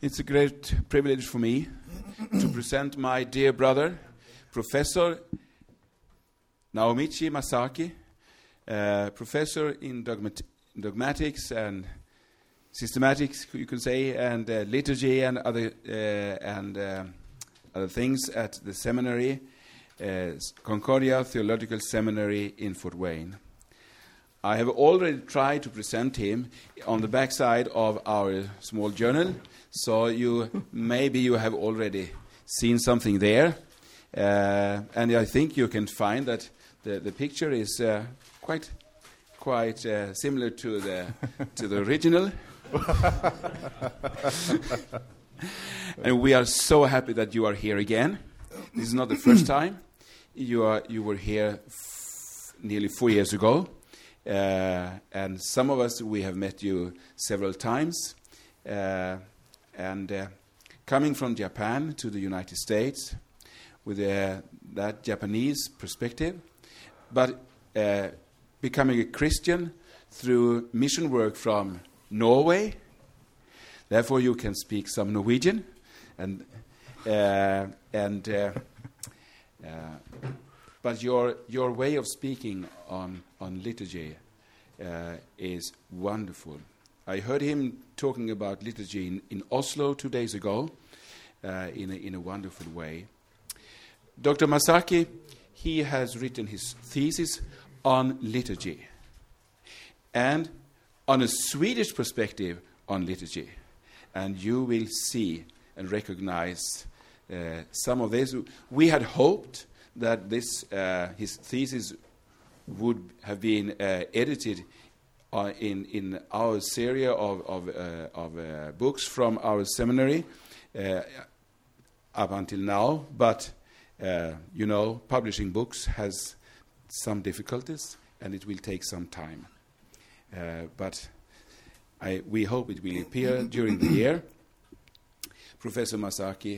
It's a great privilege for me to present my dear brother, Professor Naomichi Masaki, professor in dogmatics and systematics, you could say, and liturgy and other things at the seminary, Concordia Theological Seminary in Fort Wayne. I have already tried to present him on the backside of our small journal, so maybe you have already seen something there, and I think you can find that the picture is quite similar to the original. And we are so happy that you are here again. This is not the first time. You were here nearly 4 years ago. And some of us, we have met you several times. And coming from Japan to the United States with that Japanese perspective, but becoming a Christian through mission work from Norway. Therefore, you can speak some Norwegian, but your way of speaking on liturgy is wonderful. I heard him talking about liturgy in Oslo 2 days ago in a wonderful way. Dr. Masaki, he has written his thesis on liturgy and on a Swedish perspective on liturgy. And you will see and recognize some of this. We had hoped that his thesis would have been edited in our series of books from our seminary up until now. But, publishing books has some difficulties, and it will take some time. But we hope it will appear during the year. Professor Masaki,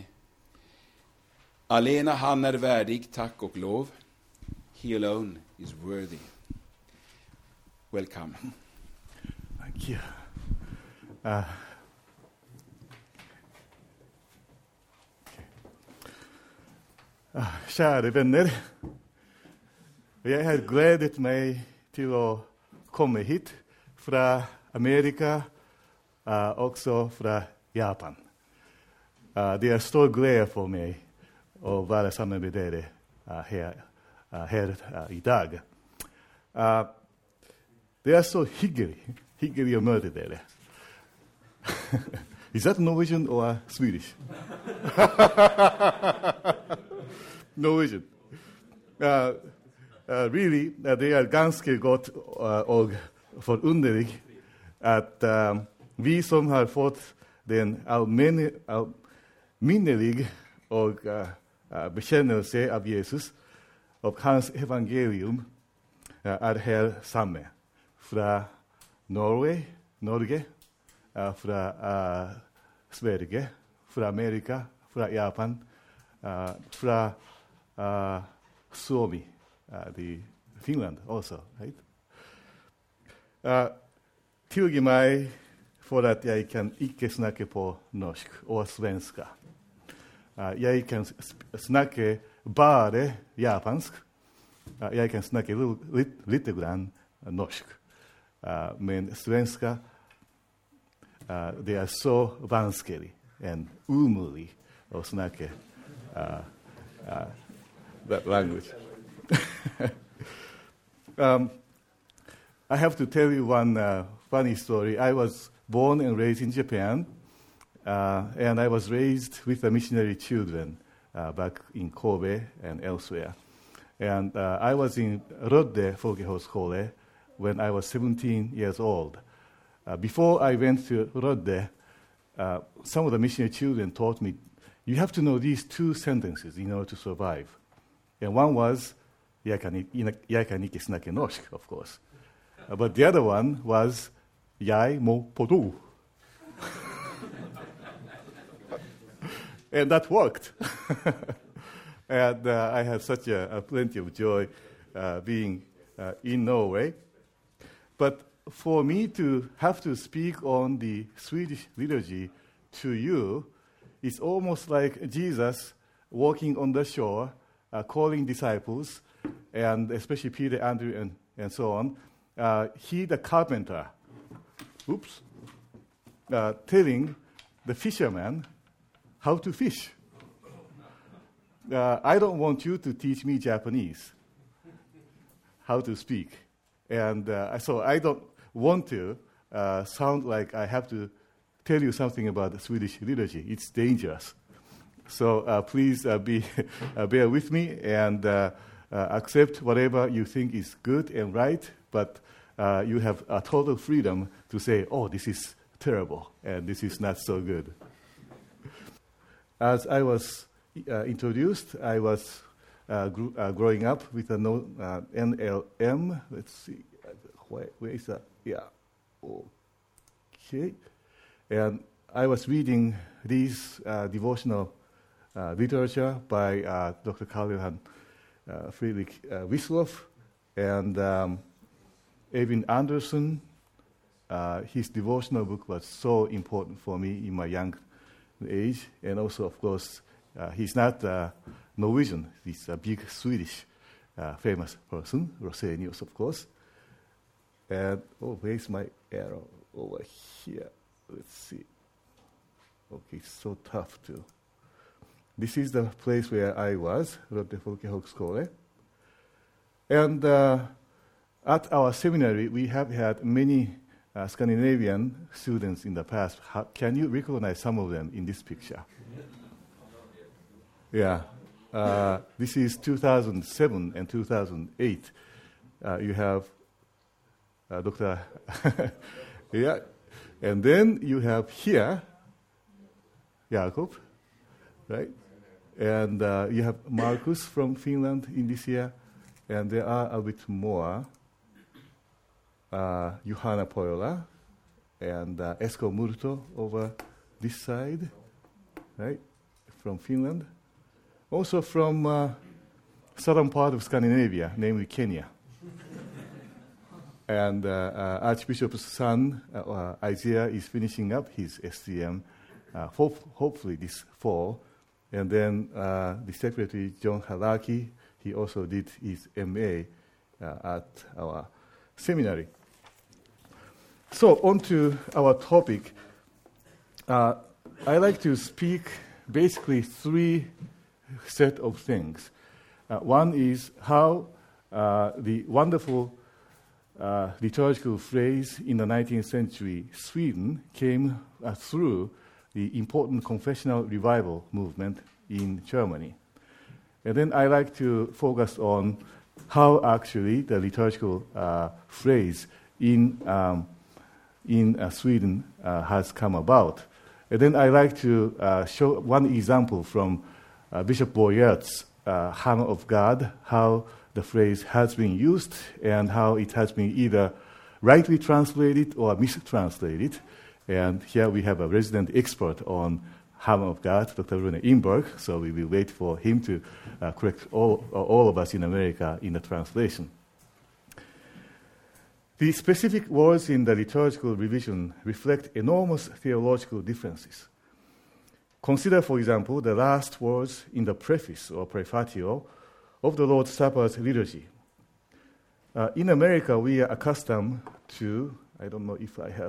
alena han värdig tack och lov. He alone is worthy. Welcome. Thank you. Kära vänner, jag har glädjat mig till att komma hit från Amerika, också från Japan. Det är stor glädje för mig att vara samman med er här idag. Det är så hyggligt att möta er. Is that Norwegian or Swedish? Norwegian. Really, det är ganska gott och förunderligt att vi som har fått den allmännelig och bekännelse av Jesus och hans evangelium är här samma. Från Norge, från Sverige, från Amerika, från Japan, från Suomi, Finland också, right? Tillge mig för att jag kan icke snacka på norsk och svenska. Jag kan snacka bara japansk. Jag kan snacka lite grann norsk. Men svenska, det är så vanskligt och omöjligt att snacka that language. I have to tell you one funny story. I was born and raised in Japan, and I was raised with the missionary children back in Kobe and elsewhere. And I was in Rodde Folkehögskola when I was 17 years old. Before I went to Rodde, some of the missionary children taught me, you have to know these 2 sentences in order to survive. And one was, jag kan icke snacka norsk, of course. But the other one was, jag må på do. And that worked. And I had such a plenty of joy being in Norway. But for me to have to speak on the Swedish liturgy to you is almost like Jesus walking on the shore, calling disciples, and especially Peter, Andrew, and so on. He, the carpenter, telling the fisherman how to fish. I don't want you to teach me Japanese, how to speak. And so I don't want to sound like I have to tell you something about the Swedish liturgy. It's dangerous. So please bear with me and accept whatever you think is good and right, but you have a total freedom to say, oh, this is terrible, and this is not so good. As I was introduced, I was growing up with a NLM. Let's see, where is that? Yeah, okay. And I was reading this devotional literature by Dr. Karl-Johann Friedrich Wiesloff and Eivind Andersen. His devotional book was so important for me in my young age. And also, of course, he's not Norwegian. He's a big Swedish famous person, Rosenius, of course. And, where's my arrow? Over here. Let's see. Okay, it's so tough to. This is the place where I was, Lotte Folkehögskole. And at our seminary, we have had many Scandinavian students in the past. Can you recognize some of them in this picture? Yeah. This is 2007 and 2008. You have Dr. yeah. And then you have here, Jakob, right? And you have Marcus from Finland in this year. And there are a bit more. Johanna Pojola and Esko Murto over this side, right, from Finland. Also from southern part of Scandinavia, namely Kenya. And Archbishop's son, Isaiah, is finishing up his STM, hopefully this fall. And then the Secretary, John Halaki, he also did his MA at our seminary. So on to our topic. I like to speak basically three set of things. One is how the wonderful liturgical phrase in the 19th century Sweden came through the important confessional revival movement in Germany. And then I like to focus on how actually the liturgical phrase in Sweden has come about. And then I like to show one example from Bishop Boyert's Hammer of God, how the phrase has been used and how it has been either rightly translated or mistranslated. And here we have a resident expert on Hammer of God, Dr. Rune Imberg, so we will wait for him to correct all of us in America in the translation. The specific words in the liturgical revision reflect enormous theological differences. Consider, for example, the last words in the preface or prefatio of the Lord's Supper's liturgy. In America, we are accustomed to, I don't know if I have,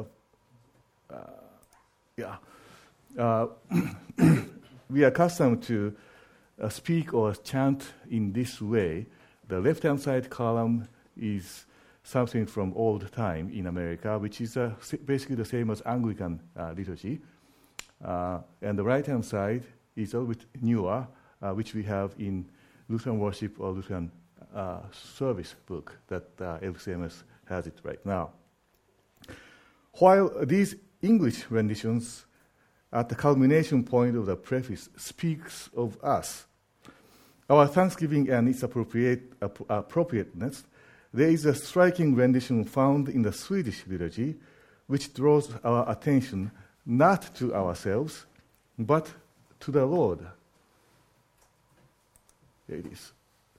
we are accustomed to speak or chant in this way. The left-hand side column is something from old time in America, which is basically the same as Anglican liturgy. And the right-hand side is a little bit newer, which we have in Lutheran Worship or Lutheran Service book that LCMS has it right now. While these English renditions at the culmination point of the preface speaks of us, our thanksgiving and its appropriateness, there is a striking rendition found in the Swedish liturgy which draws our attention not to ourselves, but to the Lord. There it is.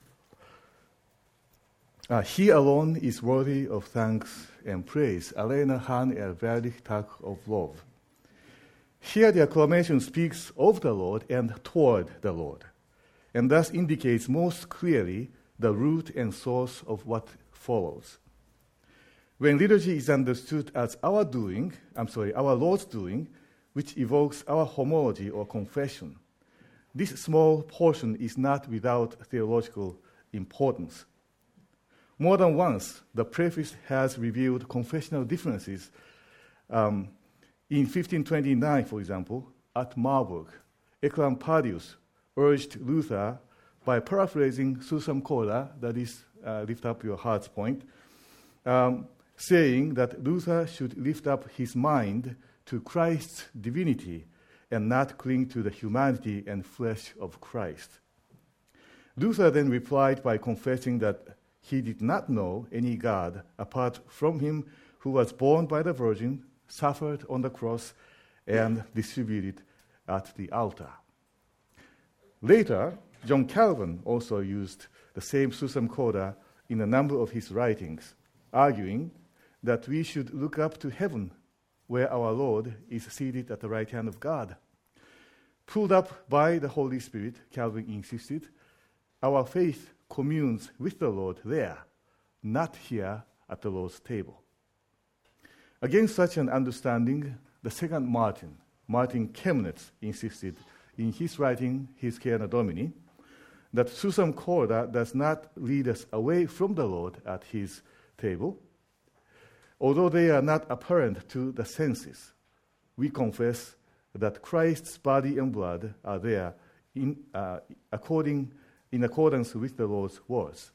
He alone is worthy of thanks and praise. Alena han värdig tack och lov. Here the acclamation speaks of the Lord and toward the Lord, and thus indicates most clearly the root and source of what follows. When liturgy is understood as our Lord's doing, which evokes our homology or confession, this small portion is not without theological importance. More than once, the preface has revealed confessional differences. In 1529, for example, at Marburg, Eclampadius urged Luther by paraphrasing Susam Corda, that is, lift up your heart's point, saying that Luther should lift up his mind to Christ's divinity and not cling to the humanity and flesh of Christ. Luther then replied by confessing that he did not know any God apart from him who was born by the Virgin, suffered on the cross, and distributed at the altar. Later, John Calvin also used the same Susam Corda in a number of his writings, arguing that we should look up to heaven, where our Lord is seated at the right hand of God. Pulled up by the Holy Spirit, Calvin insisted, our faith communes with the Lord there, not here at the Lord's table. Against such an understanding, the second Martin Chemnitz, insisted in his writing, His Caena Domini, that Susam Corda does not lead us away from the Lord at his table. Although they are not apparent to the senses, we confess that Christ's body and blood are there in accordance with the Lord's words.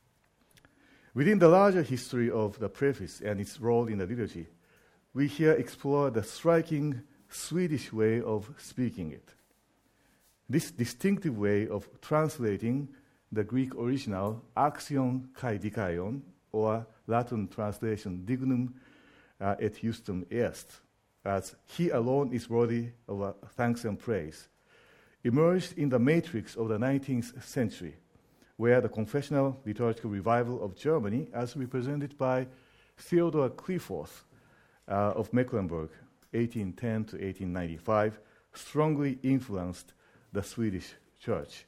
Within the larger history of the preface and its role in the liturgy, we here explore the striking Swedish way of speaking it. This distinctive way of translating the Greek original axion kai dikaion, or Latin translation dignum et justum est, as he alone is worthy of thanks and praise, emerged in the matrix of the 19th century, where the confessional liturgical revival of Germany, as represented by Theodor Clifford of Mecklenburg, 1810 to 1895, strongly influenced the Swedish church.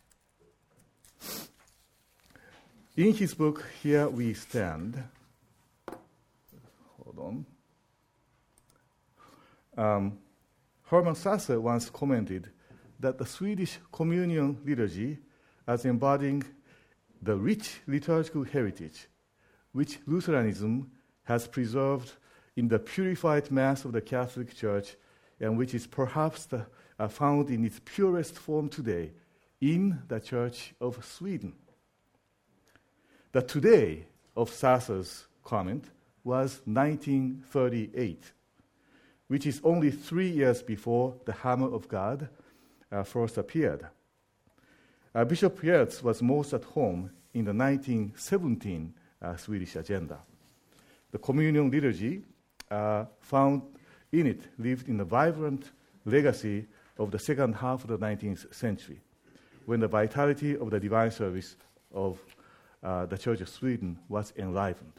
In his book, Here We Stand, Hermann Sasse once commented that the Swedish communion liturgy, as embodying the rich liturgical heritage which Lutheranism has preserved in the purified Mass of the Catholic Church, and which is perhaps found in its purest form today in the Church of Sweden. The today of Sasse's comment was 1938, which is only 3 years before the Hammer of God first appeared. Bishop Yertz was most at home in the 1917 Swedish agenda. The communion liturgy found in it lived in the vibrant legacy of the second half of the 19th century, when the vitality of the divine service of the Church of Sweden was enlivened.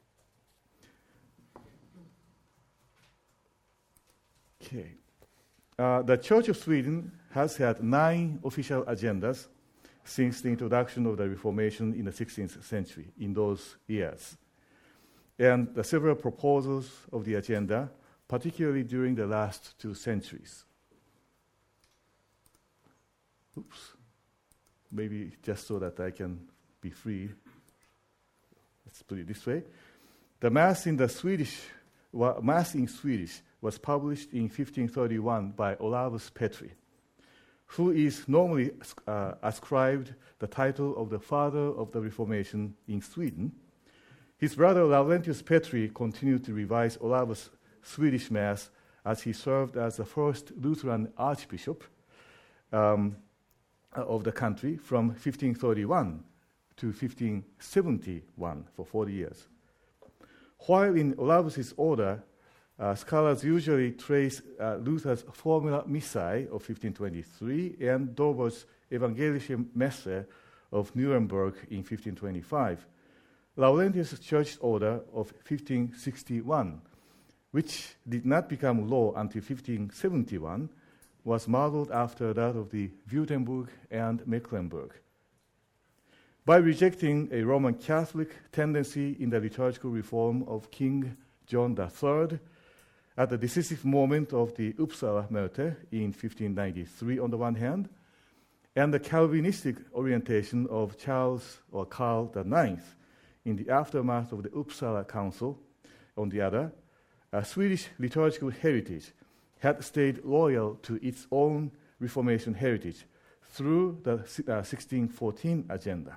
Okay. The Church of Sweden has had 9 official agendas since the introduction of the Reformation in the 16th century, in those years. And the several proposals of the agenda, particularly during the last 2 centuries. Maybe just so that I can be free. Let's put it this way. The Mass in Swedish was published in 1531 by Olaus Petri, who is normally ascribed the title of the father of the Reformation in Sweden. His brother Laurentius Petri continued to revise Olaus' Swedish Mass as he served as the first Lutheran archbishop of the country from 1531 to 1571 for 40 years. While in Olaus' order, scholars usually trace Luther's Formula Missae of 1523 and Dober's Evangelische Messe of Nuremberg in 1525. Laurentius' church order of 1561 which did not become law until 1571, was modeled after that of the Württemberg and Mecklenburg. By rejecting a Roman Catholic tendency in the liturgical reform of King John III, at the decisive moment of the Uppsala Merte in 1593 on the one hand, and the Calvinistic orientation of Karl IX in the aftermath of the Uppsala Council on the other, Swedish liturgical heritage had stayed loyal to its own Reformation heritage through the 1614 agenda.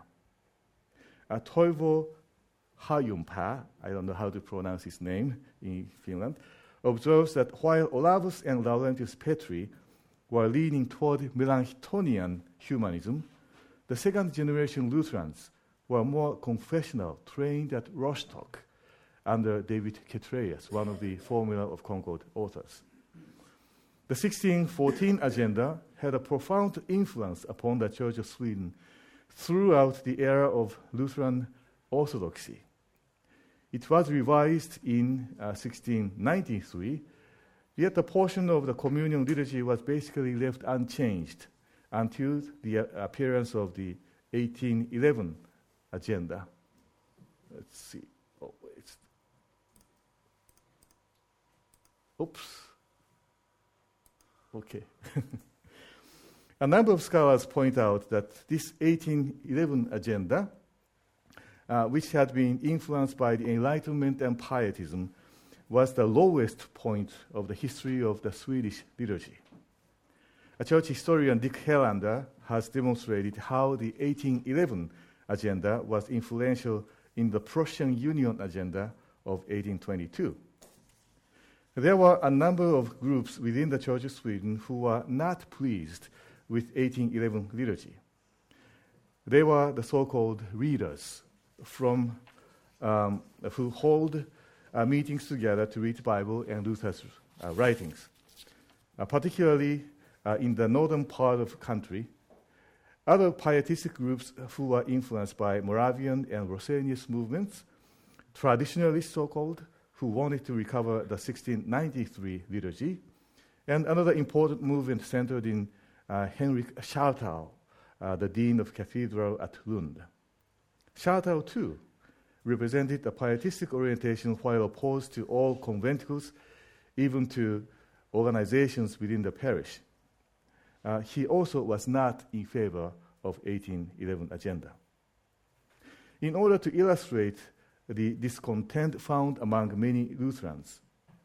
Toivo Hajunpää, I don't know how to pronounce his name in Finland, observes that while Olavus and Laurentius Petri were leaning toward Melanchthonian humanism, the second-generation Lutherans were more confessional, trained at Rostock under David Ketreus, one of the Formula of Concord authors. The 1614 agenda had a profound influence upon the Church of Sweden throughout the era of Lutheran Orthodoxy. It was revised in 1693, yet a portion of the communion liturgy was basically left unchanged until the appearance of the 1811 agenda. Let's see. Oh, wait. Oops. Okay. A number of scholars point out that this 1811 agenda, which had been influenced by the Enlightenment and Pietism, was the lowest point of the history of the Swedish liturgy. A church historian, Dick Helander, has demonstrated how the 1811 agenda was influential in the Prussian Union agenda of 1822. There were a number of groups within the Church of Sweden who were not pleased with 1811 liturgy. They were the so-called readers from who hold meetings together to read the Bible and Luther's writings, particularly in the northern part of the country. Other pietistic groups who were influenced by Moravian and Rosenius movements, traditionalists so-called, who wanted to recover the 1693 liturgy, and another important movement centered in Henrik Schartau, the dean of cathedral at Lund. Schartau, too, represented a pietistic orientation while opposed to all conventicles, even to organizations within the parish. He also was not in favor of 1811 agenda. In order to illustrate the discontent found among many Lutherans,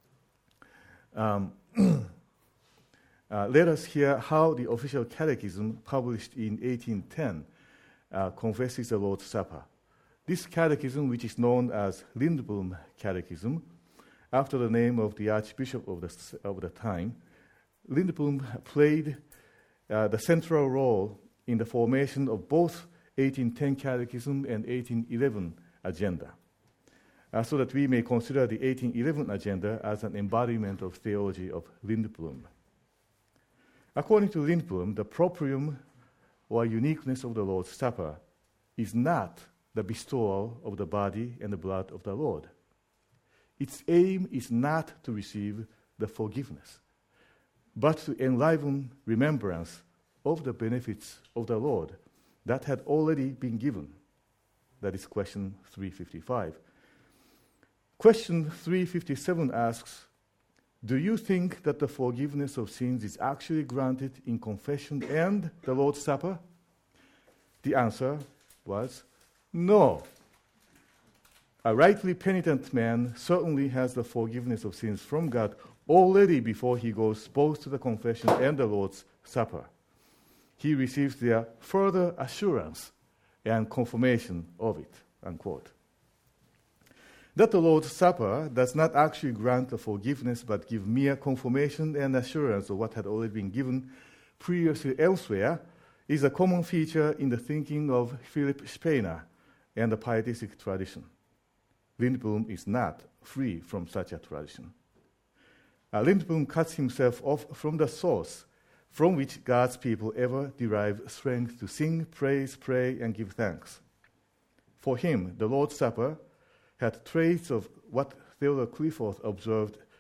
let us hear how the official catechism published in 1810 confesses the Lord's Supper. This catechism, which is known as Lindblom Catechism, after the name of the Archbishop of the time, Lindblom played the central role in the formation of both 1810 Catechism and 1811 agenda, so that we may consider the 1811 agenda as an embodiment of theology of Lindblom. According to Lindblom, the proprium or uniqueness of the Lord's Supper is not the bestowal of the body and the blood of the Lord. Its aim is not to receive the forgiveness, but to enliven remembrance of the benefits of the Lord that had already been given. That is question 355. Question 357 asks, do you think that the forgiveness of sins is actually granted in confession and the Lord's Supper? The answer was no. A rightly penitent man certainly has the forgiveness of sins from God already before he goes both to the confession and the Lord's Supper. He receives their further assurance and confirmation of it, unquote. That the Lord's Supper does not actually grant the forgiveness but give mere confirmation and assurance of what had already been given previously elsewhere is a common feature in the thinking of Philip Spener and the pietistic tradition. Lindblom is not free from such a tradition. Lindblom cuts himself off from the source from which God's people ever derive strength to sing, praise, pray, and give thanks. For him, the Lord's Supper had traits of what Theodore Clifford observed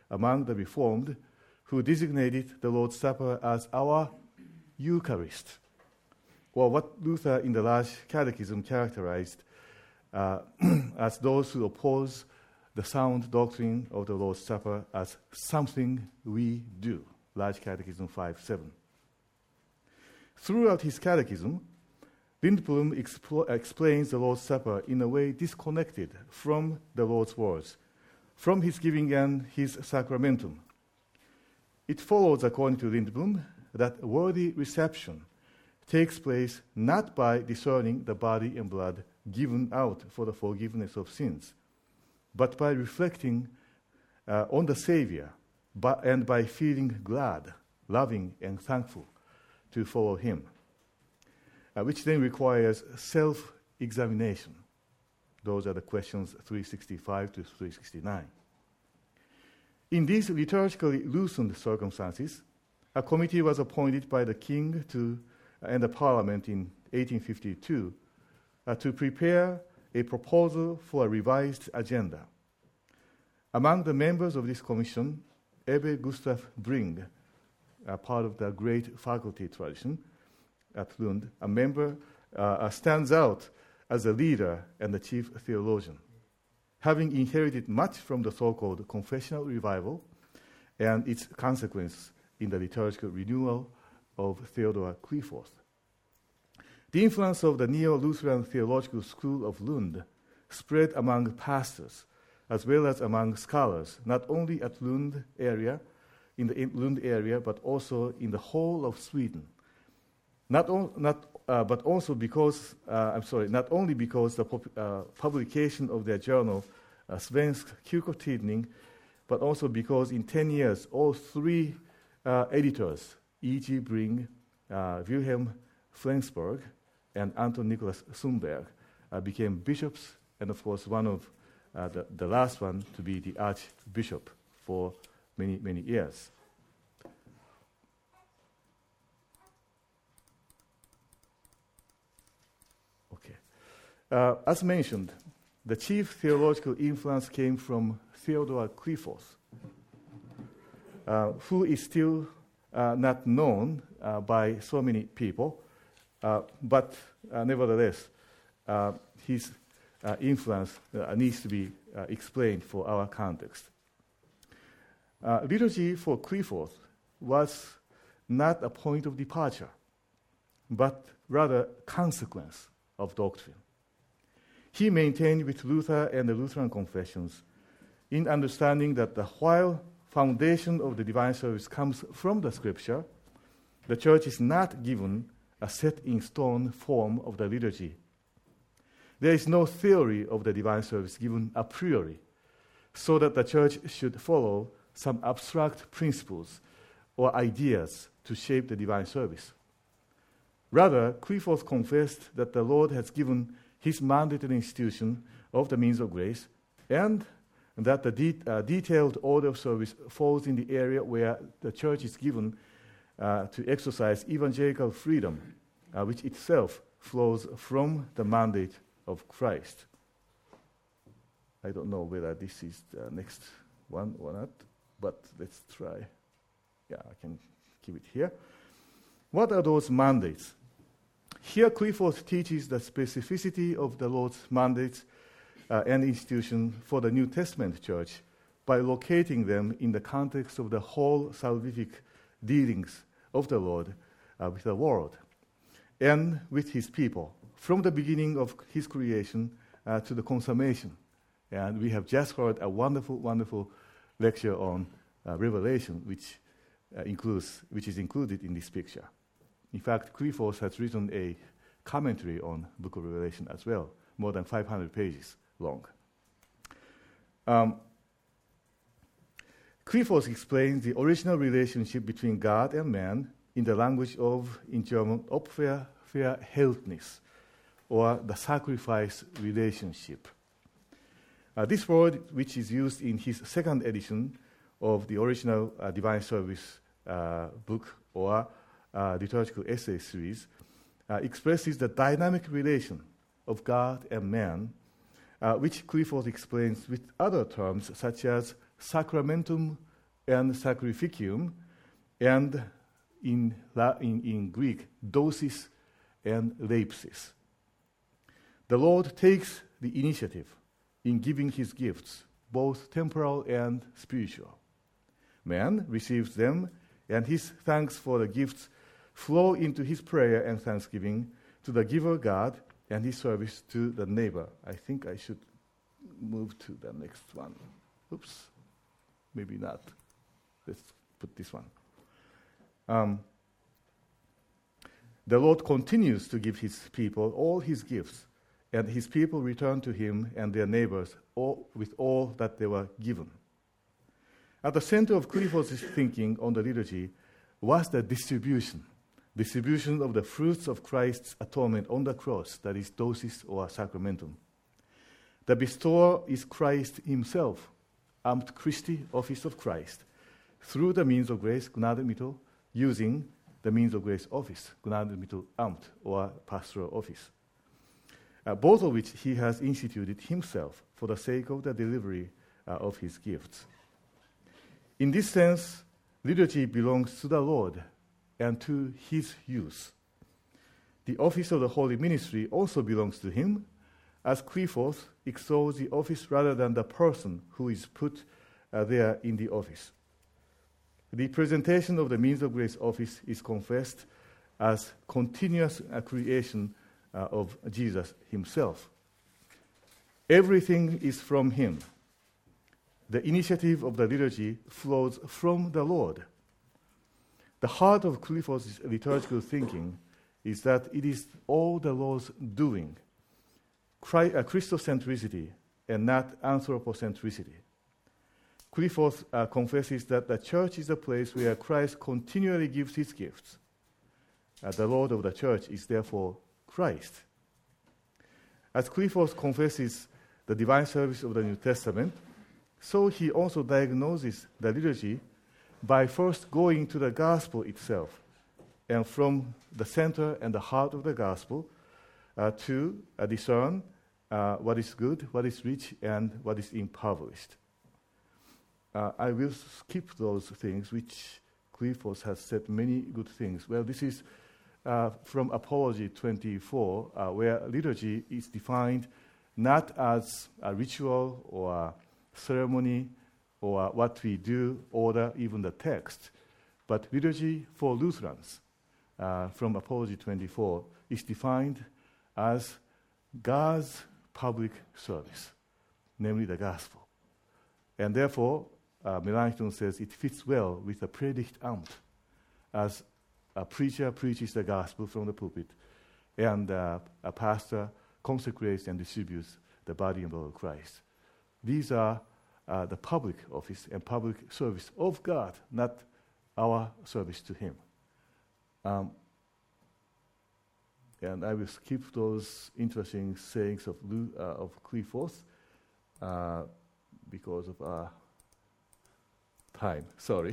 among the Reformed who designated the Lord's Supper as our Eucharist, or what Luther in the Large Catechism characterized as those who oppose the sound doctrine of the Lord's Supper as something we do. Large Catechism 5:7. Throughout his catechism, Lindblom explains the Lord's Supper in a way disconnected from the Lord's words, from his giving and his sacramentum. It follows, according to Lindblom, that worthy reception takes place not by discerning the body and blood given out for the forgiveness of sins, but by reflecting on the Savior and by feeling glad, loving, and thankful to follow him, which then requires self-examination. Those are the questions 365 to 369. In these liturgically loosened circumstances, a committee was appointed by the king and the parliament in 1852 to prepare a proposal for a revised agenda. Among the members of this commission, Ebbe Gustav Bring, part of the great faculty tradition at Lund, a member stands out as a leader and the chief theologian, having inherited much from the so-called confessional revival and its consequence in the liturgical renewal of Theodor Qlipphoth. The influence of the Neo-Lutheran Theological School of Lund spread among pastors as well as among scholars, not only at Lund area, in the Lund area, but also in the whole of Sweden. Not only because the publication of their journal, Svensk Kyrkotidning, but also because in 10 years, all three editors, E.G. Bring, Wilhelm Flensburg, and Anton Nicholas Sundberg, became bishops, and of course one of the last one to be the archbishop for many, many years. Okay. As mentioned, the chief theological influence came from Theodor Qlipphoth, who is still not known by so many people, but nevertheless, his influence needs to be explained for our context. Liturgy for Qlipphoth was not a point of departure, but rather consequence of doctrine. He maintained with Luther and the Lutheran confessions in understanding that while foundation of the divine service comes from the Scripture, the Church is not given a set-in-stone form of the liturgy. There is no theory of the divine service given a priori, so that the Church should follow some abstract principles or ideas to shape the divine service. Rather, Qlipphoth confessed that the Lord has given his mandated institution of the means of grace, and that the detailed order of service falls in the area where the Church is given to exercise evangelical freedom, which itself flows from the mandate of Christ. I don't know whether this is the next one or not, but let's try. Yeah, I can keep it here. What are those mandates? Here, Qlipphoth teaches the specificity of the Lord's mandates and institution for the New Testament church by locating them in the context of the whole salvific dealings of the Lord with the world and with his people, from the beginning of his creation to the consummation. And we have just heard a wonderful, wonderful lecture on Revelation, which is included in this picture. In fact, Qlipphoth has written a commentary on the Book of Revelation as well, more than 500 pages long. Qlipphoth explains the original relationship between God and man in the language of, in German, Opferverhältnis, or the sacrifice relationship. This word, which is used in his second edition of the original Divine Service book, or liturgical essay series, expresses the dynamic relation of God and man, which Qlipphoth explains with other terms such as sacramentum and sacrificium, and in Greek, dosis and leipsis. The Lord takes the initiative in giving his gifts, both temporal and spiritual. Man receives them, and his thanks for the gifts flow into his prayer and thanksgiving to the giver God and his service to the neighbor. I think I should move to the next one. Oops, maybe not. Let's put this one. The Lord continues to give his people all his gifts, and his people return to him and their neighbors with all that they were given. At the center of Clifford's thinking on the liturgy was the distribution of the fruits of Christ's atonement on the cross, that is dosis or sacramentum. The bestower is Christ himself, Amt Christi, office of Christ, through the means of grace, Gnadenmittel, using the means of grace office, Gnadenmittel Amt, or pastoral office, both of which he has instituted himself for the sake of the delivery of his gifts. In this sense, liturgy belongs to the Lord and to his use. The office of the holy ministry also belongs to him, as Clifford extols the office rather than the person who is put there in the office. The presentation of the means of grace office is confessed as continuous creation of Jesus himself. Everything is from him. The initiative of the liturgy flows from the Lord. The heart of Clifford's liturgical thinking is that it is all the Lord's doing, Christocentricity and not anthropocentricity. Clifford confesses that the church is a place where Christ continually gives his gifts. The Lord of the church is therefore Christ. As Clifford confesses the divine service of the New Testament, so he also diagnoses the liturgy by first going to the gospel itself, and from the center and the heart of the gospel to discern what is good, what is rich, and what is impoverished. I will skip those things, which Clifford has said many good things. Well, this is from Apology 24, where liturgy is defined not as a ritual or a ceremony or what we do, or even the text, but liturgy for Lutherans from Apology 24 is defined as God's public service, namely the gospel. And therefore, Melanchthon says it fits well with the Predigtamt, as a preacher preaches the gospel from the pulpit, and a pastor consecrates and distributes the body and blood of Christ. These are the public office and public service of God, not our service to him. And I will skip those interesting sayings of Clifford because of time. Sorry.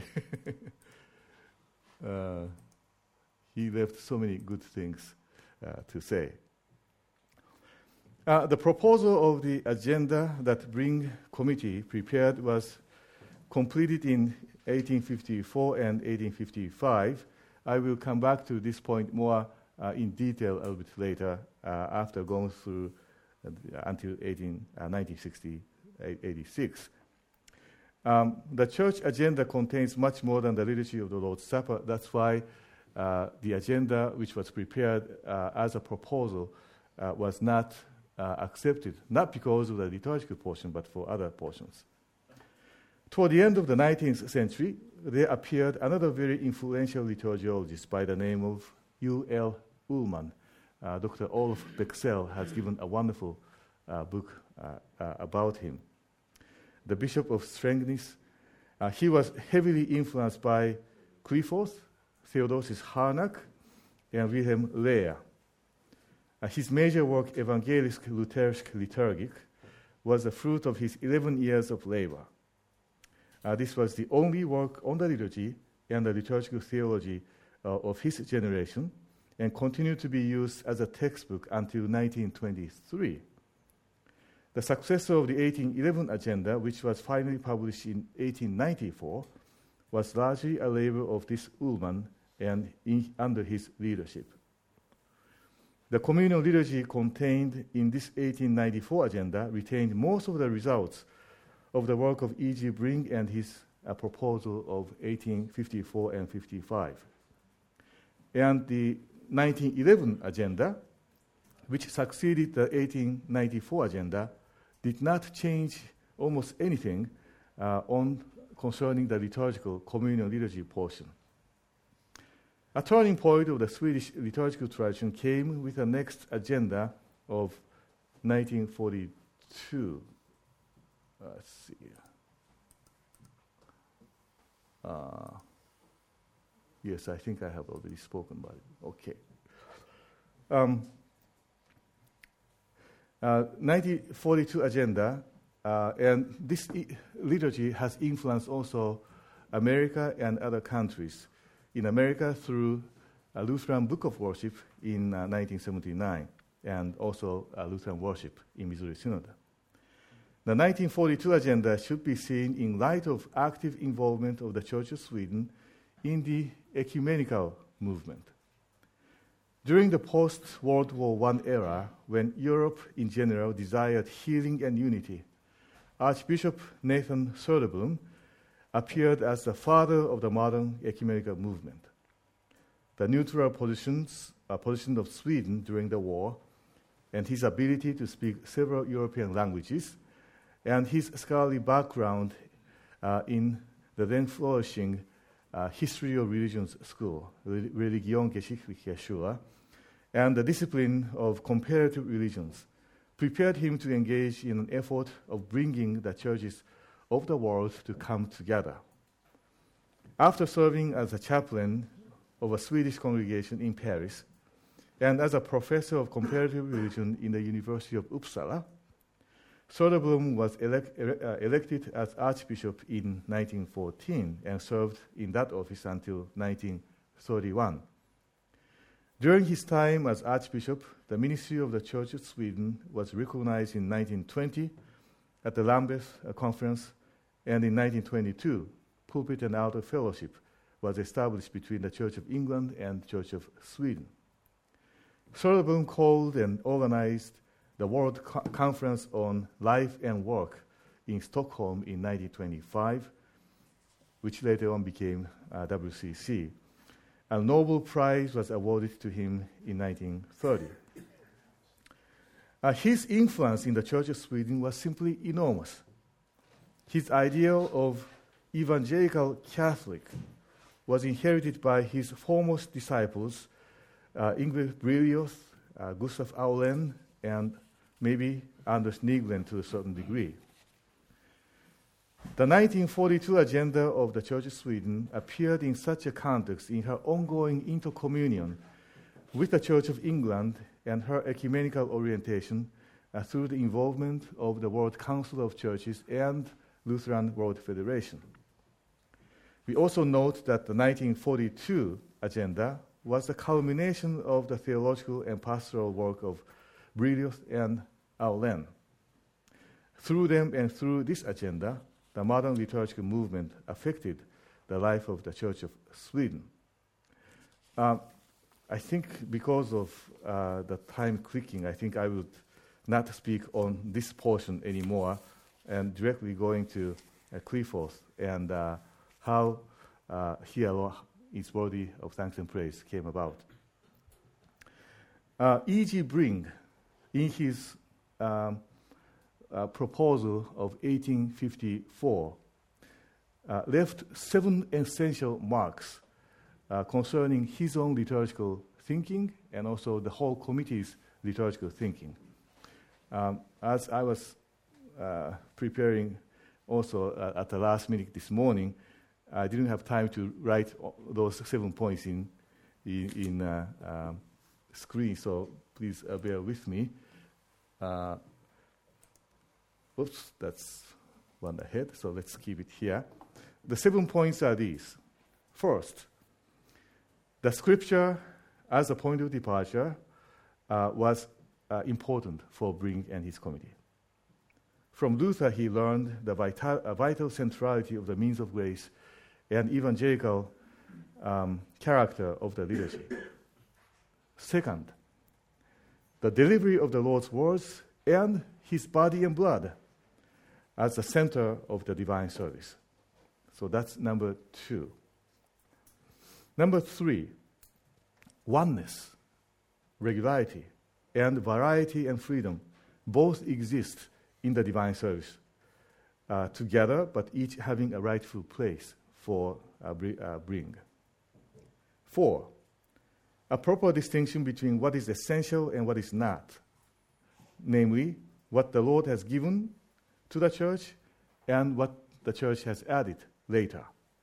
He left so many good things to say. The proposal of the agenda that Bring Committee prepared was completed in 1854 and 1855. I will come back to this point more in detail a little bit later after going through until 1986. The church agenda contains much more than the liturgy of the Lord's Supper. That's why the agenda, which was prepared as a proposal, was not accepted, not because of the liturgical portion, but for other portions. Toward the end of the 19th century, there appeared another very influential liturgiologist by the name of U.L. Ullmann. Dr. Olaf Bexell has given a wonderful book about him. The Bishop of Strängnäs, he was heavily influenced by Clifford, Theodosius Harnack, and Wilhelm Lehr. His major work, Evangelisch-Lutherisch Liturgic, was the fruit of his 11 years of labor. This was the only work on the liturgy and the liturgical theology of his generation, and continued to be used as a textbook until 1923. The successor of the 1811 agenda, which was finally published in 1894, was largely a labor of this Ullmann and under his leadership. The communal liturgy contained in this 1894 agenda retained most of the results of the work of E.G. Bring and his proposal of 1854 and 55. And the 1911 agenda, which succeeded the 1894 agenda, did not change almost anything concerning the liturgical communal liturgy portion. A turning point of the Swedish liturgical tradition came with the next agenda of 1942. Let's see. Yes, I think I have already spoken about it. Okay. 1942 agenda, and this liturgy has influenced also America and other countries. In America, through a Lutheran Book of Worship in 1979, and also Lutheran Worship in Missouri Synod. The 1942 agenda should be seen in light of active involvement of the Church of Sweden in the ecumenical movement. During the post-World War I era, when Europe in general desired healing and unity, Archbishop Nathan Söderblom appeared as the father of the modern ecumenical movement. The neutral position of Sweden during the war, and his ability to speak several European languages, and his scholarly background in the then flourishing History of Religions School, Religionsgeschichtliche Schule, and the discipline of comparative religions, prepared him to engage in an effort of bringing the churches of the world to come together. After serving as a chaplain of a Swedish congregation in Paris, and as a professor of comparative religion in the University of Uppsala, Söderblom was elected as Archbishop in 1914 and served in that office until 1931. During his time as Archbishop, the ministry of the Church of Sweden was recognized in 1920 at the Lambeth Conference, and in 1922, Pulpit and Altar Fellowship was established between the Church of England and Church of Sweden. Söderblom called and organized the World Conference on Life and Work in Stockholm in 1925, which later on became WCC. A Nobel Prize was awarded to him in 1930. His influence in the Church of Sweden was simply enormous. His ideal of evangelical Catholic was inherited by his foremost disciples, Yngve Brilius, Gustav Aulén, and maybe Anders Nygren to a certain degree. The 1942 agenda of the Church of Sweden appeared in such a context in her ongoing intercommunion with the Church of England and her ecumenical orientation through the involvement of the World Council of Churches and Lutheran World Federation. We also note that the 1942 agenda was the culmination of the theological and pastoral work of Brilius and Aulén. Through them and through this agenda, the modern liturgical movement affected the life of the Church of Sweden. I think because of the time clicking, I think I would not speak on this portion anymore and directly going to Clifford and how he alone is worthy of thanks and praise came about. E.G. Bring, in his proposal of 1854, left 7 essential marks concerning his own liturgical thinking and also the whole committee's liturgical thinking. As I was preparing also at the last minute this morning, I didn't have time to write those 7 points in screen, so please bear with me. Oops, that's one ahead, so let's keep it here. The 7 points are these. First, the scripture as a point of departure was important for Bring and his committee. From Luther, he learned the vital centrality of the means of grace and evangelical character of the liturgy. Second, the delivery of the Lord's words and his body and blood as the center of the divine service. So that's number 2. Number 3, oneness, regularity, and variety and freedom both exist in the divine service together, but each having a rightful place for bring. 4, a proper distinction between what is essential and what is not, namely, what the Lord has given to the church and what the church has added later.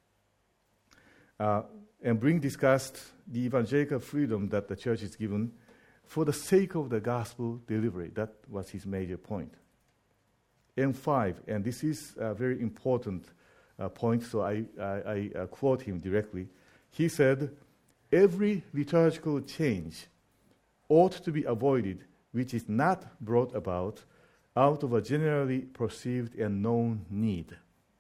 And Bring discussed the evangelical freedom that the church is given for the sake of the gospel delivery. That was his major point. And 5, and this is a very important point, so I quote him directly. He said, "Every liturgical change ought to be avoided which is not brought about out of a generally perceived and known need."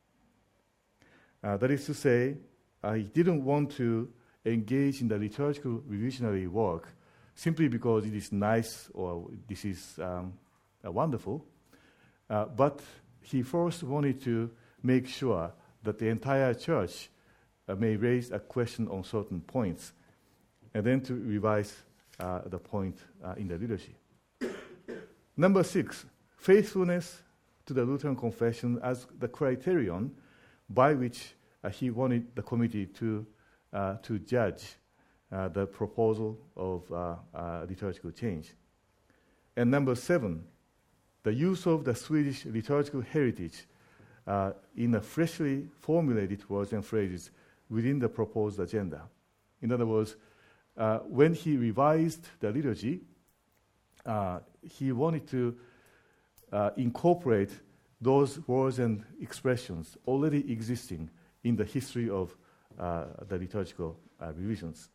That is to say, he didn't want to engage in the liturgical revisionary work simply because it is nice or this is wonderful, but he first wanted to make sure that the entire church may raise a question on certain points, and then to revise the point in the liturgy. Number 6, faithfulness to the Lutheran confession as the criterion by which he wanted the committee to judge the proposal of liturgical change. And number 7, the use of the Swedish liturgical heritage in a freshly formulated words and phrases within the proposed agenda. In other words, when he revised the liturgy, he wanted to incorporate those words and expressions already existing in the history of the liturgical revisions.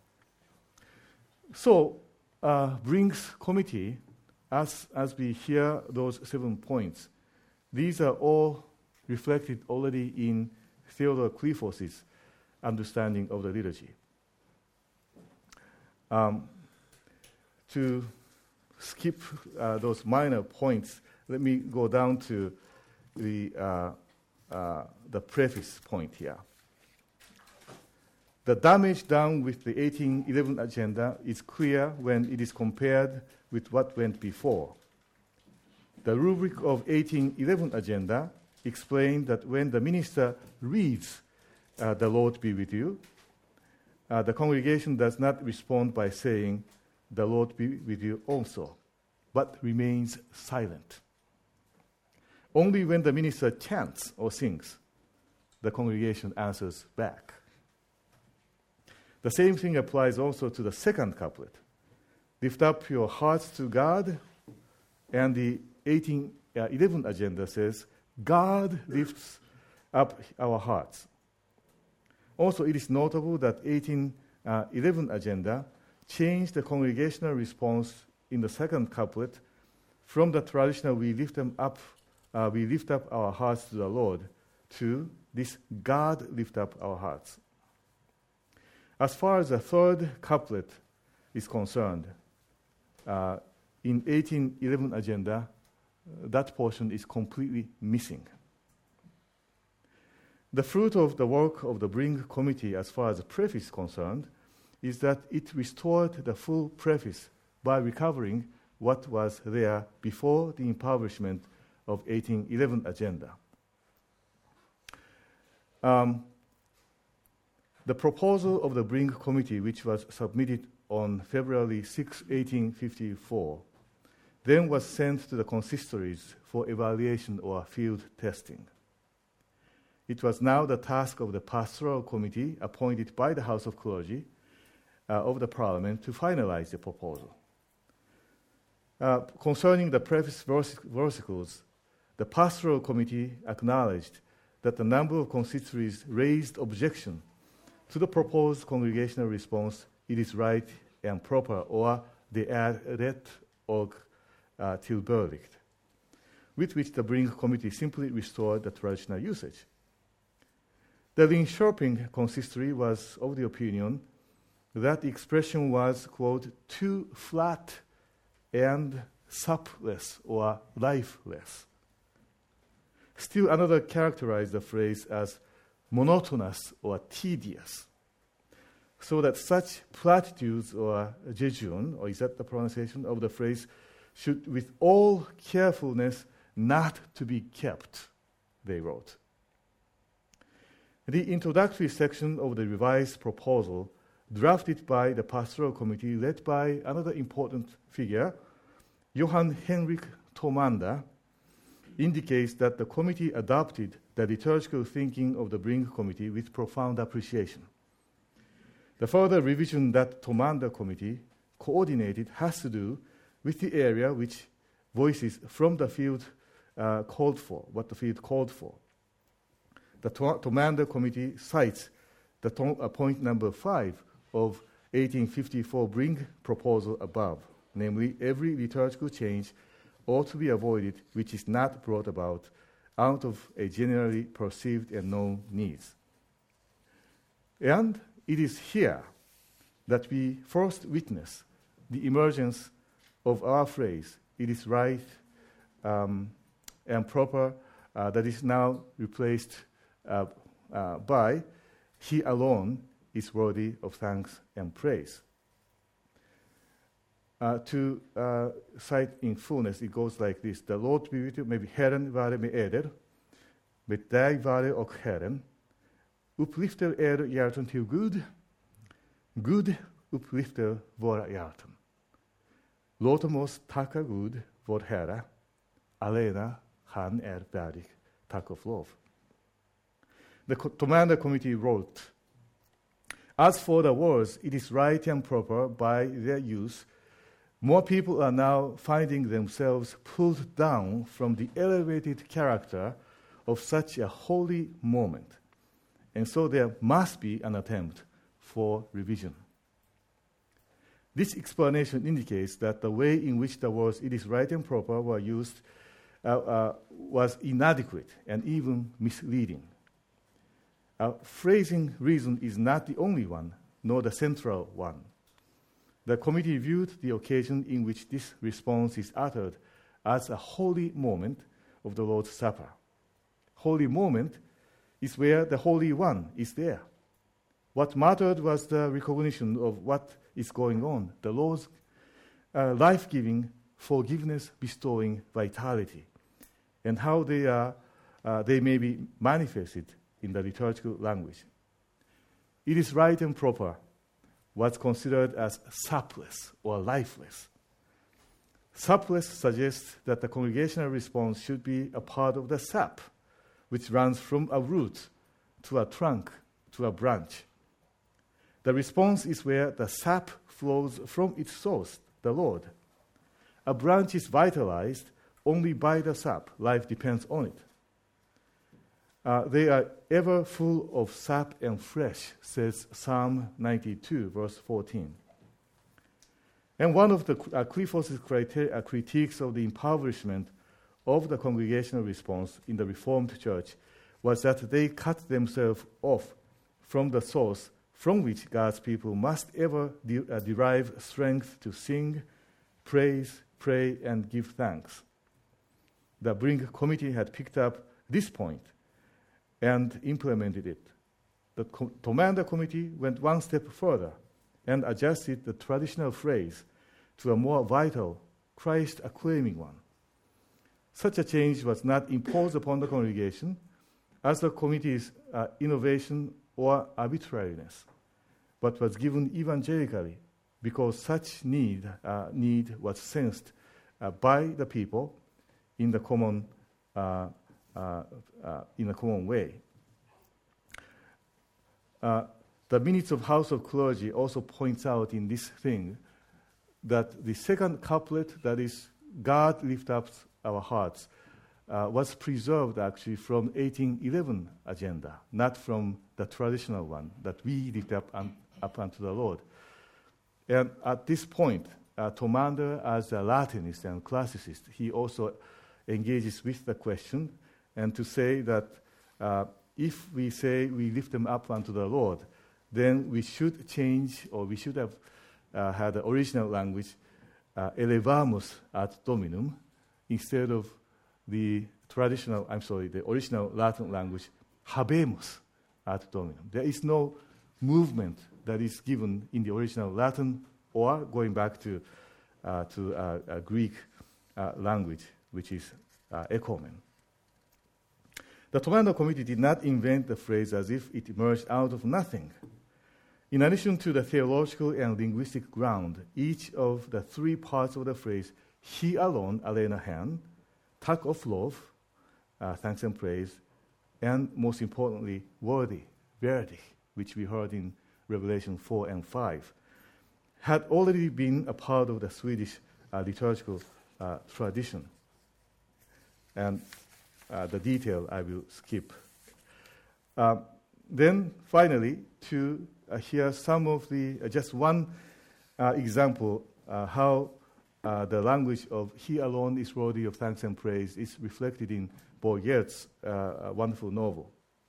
So, Bring's committee, as we hear those 7 points, these are all reflected already in Theodore Cliffos's understanding of the liturgy. To skip those minor points, let me go down to the preface point here. The damage done with the 1811 agenda is clear when it is compared with what went before. The rubric of 1811 agenda explained that when the minister reads, "The Lord be with you," the congregation does not respond by saying, "The Lord be with you also," but remains silent. Only when the minister chants or sings, the congregation answers back. The same thing applies also to the second couplet. "Lift up your hearts to God," and the 1811 agenda says, "God lifts up our hearts." Also, it is notable that 1811 agenda changed the congregational response in the second couplet from the traditional "we lift up our hearts to the Lord" to this "God lift up our hearts." As far as the third couplet is concerned, in 1811 agenda, that portion is completely missing. The fruit of the work of the Bring Committee, as far as the preface is concerned, is that it restored the full preface by recovering what was there before the impoverishment of 1811 agenda. The proposal of the Bring Committee, which was submitted on February 6, 1854, then was sent to the consistories for evaluation or field testing. It was now the task of the Pastoral Committee, appointed by the House of Clergy of the Parliament, to finalize the proposal. Concerning the preface versicles, the Pastoral Committee acknowledged that the number of consistories raised objection to the proposed congregational response, "It is right and proper," or "det är rätt och tillbörligt," with which the Bring Committee simply restored the traditional usage. The Linköping consistory was of the opinion that the expression was, quote, too flat and sapless or lifeless. Still another characterized the phrase as monotonous or tedious, so that such platitudes or jejun, or is that the pronunciation of the phrase, should with all carefulness not to be kept, they wrote. The introductory section of the revised proposal, drafted by the pastoral committee led by another important figure, Johann Henrik Tomander, indicates that the committee adopted the liturgical thinking of the Brink Committee with profound appreciation. The further revision that Tomander Committee coordinated has to do with the area which voices from the field called for, what the field called for. The Tomander Committee cites the point number 5 of 1854 Brink proposal above, namely, every liturgical change ought to be avoided which is not brought about out of a generally perceived and known needs. And it is here that we first witness the emergence of our phrase, it is right and proper, that is now replaced by he alone is worthy of thanks and praise. To cite in fullness, it goes like this. The Lord be with you, maybe Herren vare med eder, med dig vare och Herren. Upplyfter hjärtan till Gud, Gud upplyfter våra hjärtan. Låt oss tacka Gud, vår Herre, allena han värdig tack och lov. The Tomander Committee wrote, as for the words, it is right and proper by their use, more people are now finding themselves pulled down from the elevated character of such a holy moment. And so there must be an attempt for revision. This explanation indicates that the way in which the words "it is right and proper" were used was inadequate and even misleading. Phrasing reason is not the only one, nor the central one. The committee viewed the occasion in which this response is uttered as a holy moment of the Lord's Supper. Holy moment is where the Holy One is there. What mattered was the recognition of what is going on, the Lord's life-giving, forgiveness-bestowing vitality, and how they may be manifested in the liturgical language. It is right and proper was considered as sapless or lifeless. Sapless suggests that the congregational response should be a part of the sap, which runs from a root to a trunk to a branch. The response is where the sap flows from its source, the Lord. A branch is vitalized only by the sap. Life depends on it. They are ever full of sap and flesh, says Psalm 92, verse 14. And one of the Clifford's critiques of the impoverishment of the congregational response in the Reformed Church was that they cut themselves off from the source from which God's people must ever derive strength to sing, praise, pray, and give thanks. The Brink Committee had picked up this point and implemented it. The Tomander Committee went one step further and adjusted the traditional phrase to a more vital, Christ-acclaiming one. Such a change was not imposed upon the congregation as the committee's innovation or arbitrariness, but was given evangelically because such need was sensed by the people in the common way. The minutes of House of Clergy also points out in this thing that the second couplet, that is, God lift up our hearts, was preserved actually from 1811 agenda, not from the traditional one, that we lift up unto the Lord. And at this point, Tomander, as a Latinist and classicist, he also engages with the question, and to say that if we say we lift them up unto the Lord, then we should change, or we should have had the original language, elevamus ad Dominum, instead of the original Latin language, habemus ad Dominum. There is no movement that is given in the original Latin or going back to Greek language, which is echomen. The Toledo Committee did not invent the phrase as if it emerged out of nothing. In addition to the theological and linguistic ground, each of the three parts of the phrase, he alone, alena han, tak of love, thanks and praise, and most importantly, worthy, verdig, which we heard in Revelation 4 and 5, had already been a part of the Swedish liturgical tradition. And the detail I will skip. Then finally, to hear some of just one example how the language of he alone is worthy of thanks and praise is reflected in Bourget's wonderful novel.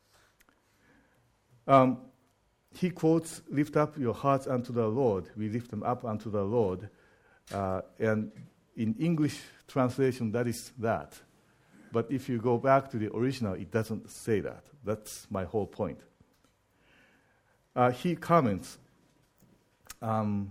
He quotes, lift up your hearts unto the Lord. We lift them up unto the Lord. And in English translation, that is that. But if you go back to the original, it doesn't say that. That's my whole point. He comments in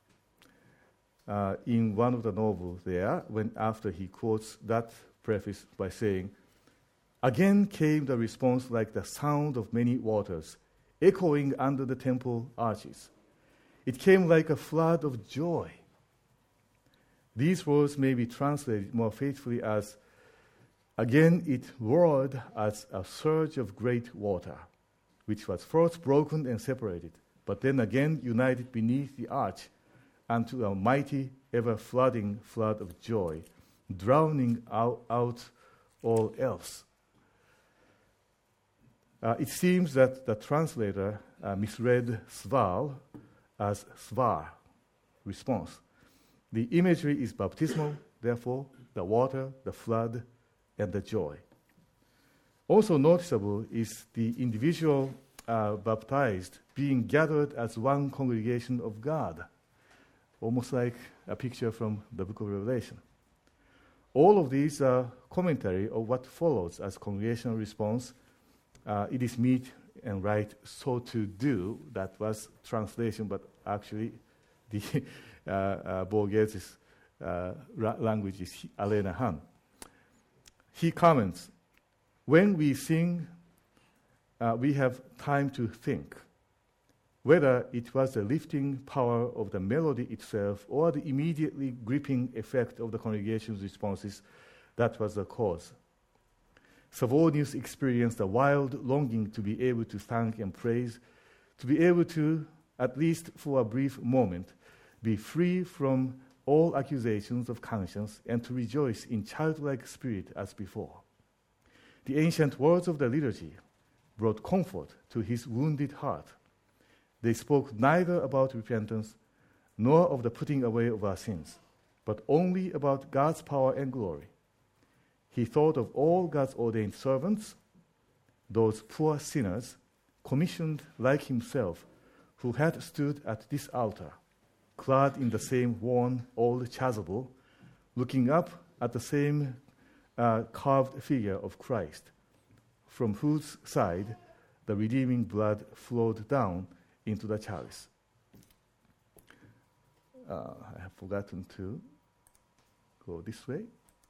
one of the novels there, after he quotes that preface by saying, again came the response like the sound of many waters, echoing under the temple arches. It came like a flood of joy. These words may be translated more faithfully as, again it roared as a surge of great water, which was first broken and separated, but then again united beneath the arch unto a mighty, ever-flooding flood of joy, drowning out all else. It seems that the translator misread sval as svar, response. The imagery is baptismal, therefore, the water, the flood, and the joy. Also noticeable is the individual baptized being gathered as one congregation of God, almost like a picture from the book of Revelation. All of these are commentary of what follows as congregational response. It is meet and right so to do. That was translation, but actually the Bourget's language is alena han. He comments, when we sing, we have time to think, whether it was the lifting power of the melody itself or the immediately gripping effect of the congregation's responses that was the cause. Savonius experienced a wild longing to be able to thank and praise, to be able to, at least for a brief moment, be free from all accusations of conscience and to rejoice in childlike spirit as before. The ancient words of the liturgy brought comfort to his wounded heart. They spoke neither about repentance nor of the putting away of our sins, but only about God's power and glory. He thought of all God's ordained servants, those poor sinners, commissioned like himself, who had stood at this altar, clad in the same worn old chasuble, looking up at the same carved figure of Christ, from whose side the redeeming blood flowed down into the chalice. I have forgotten to go this way.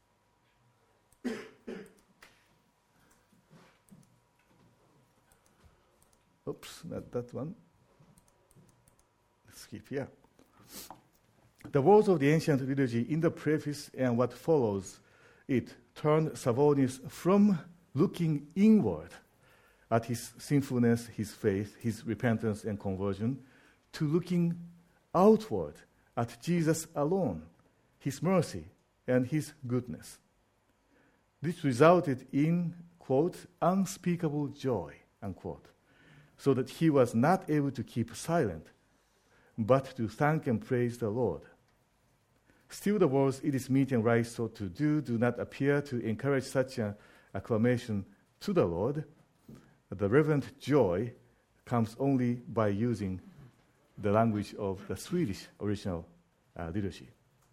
Oops, not that one. Let's skip here. The words of the ancient liturgy in the preface and what follows it turned Savonius from looking inward at his sinfulness, his faith, his repentance and conversion, to looking outward at Jesus alone, his mercy and his goodness. This resulted in, quote, unspeakable joy, unquote, so that he was not able to keep silent, but to thank and praise the Lord. Still the words, it is meet and right so to do not appear to encourage such an acclamation to the Lord. the reverent joy comes only by using the language of the Swedish original liturgy.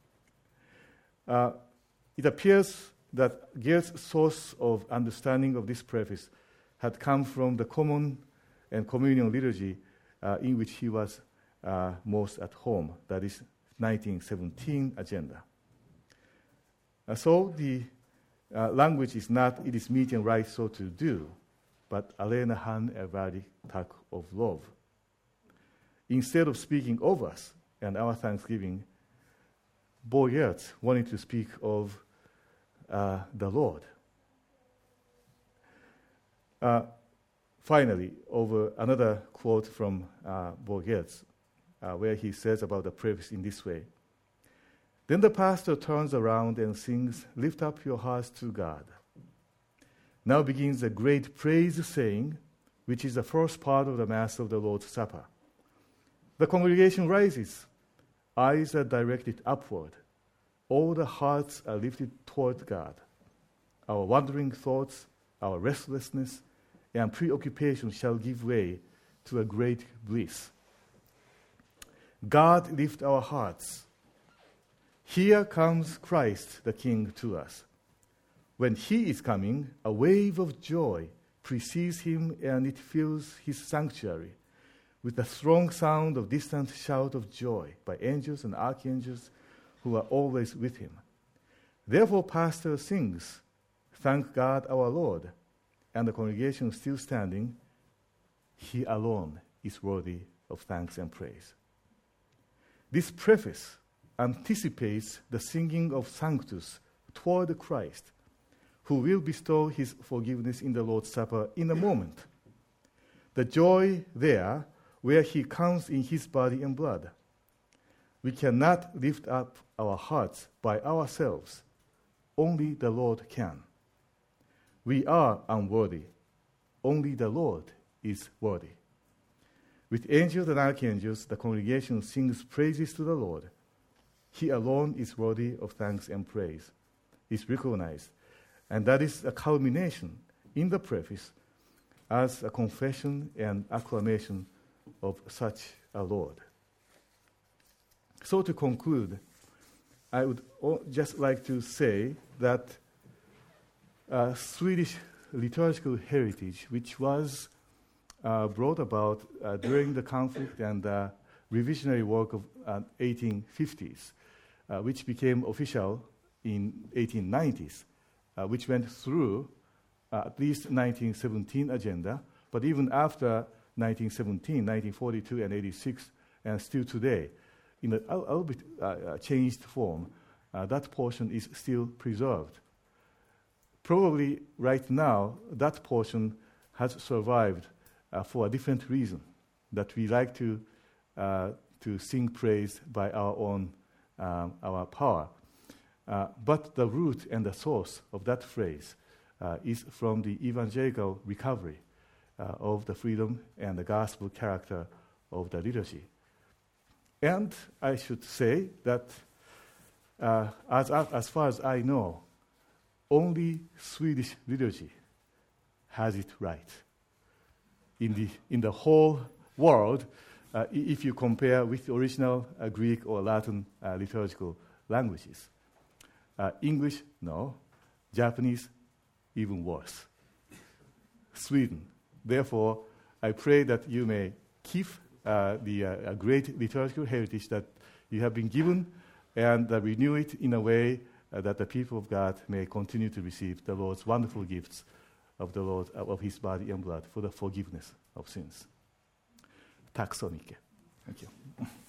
It appears that Gert's source of understanding of this preface had come from the common and communion liturgy in which he was most at home, that is 1917 agenda. So the language is not, it is meet and right so to do, but alene han ervarig tack of lov. Instead of speaking of us and our thanksgiving, Bo Gert wanted to speak of the Lord. Finally, over another quote from Bo Gert, where he says about the preface in this way. Then the pastor turns around and sings, "Lift up your hearts to God." Now begins a great praise saying, which is the first part of the Mass of the Lord's Supper. The congregation rises. Eyes are directed upward. All the hearts are lifted toward God. Our wandering thoughts, our restlessness, and preoccupation shall give way to a great bliss. God lift our hearts. Here comes Christ the King to us. When he is coming, a wave of joy precedes him and it fills his sanctuary with the strong sound of distant shout of joy by angels and archangels who are always with him. Therefore, pastor sings, "Thank God our Lord," and the congregation still standing, "He alone is worthy of thanks and praise." This preface anticipates the singing of Sanctus toward Christ, who will bestow his forgiveness in the Lord's Supper in a moment. The joy there where he comes in his body and blood. We cannot lift up our hearts by ourselves. Only the Lord can. We are unworthy. Only the Lord is worthy. With angels and archangels, the congregation sings praises to the Lord. He alone is worthy of thanks and praise, is recognized. And that is a culmination in the preface as a confession and acclamation of such a Lord. So to conclude, I would just like to say that Swedish liturgical heritage, which was brought about during the conflict and revisionary work of 1850s, which became official in 1890s, which went through at least 1917 agenda, but even after 1917, 1942 and 86, and still today, in a little bit changed form, that portion is still preserved. Probably right now, that portion has survived for a different reason, that we like to sing praise by our own our power. But the root and the source of that phrase is from the evangelical recovery of the freedom and the gospel character of the liturgy. And I should say that as far as I know, only Swedish liturgy has it right. In the whole world, if you compare with the original Greek or Latin liturgical languages. English, no. Japanese, even worse. Sweden. Therefore, I pray that you may keep the great liturgical heritage that you have been given and renew it in a way that the people of God may continue to receive the Lord's wonderful gifts of the Lord, of his body and blood for the forgiveness of sins. Tack så mycket. Thank you.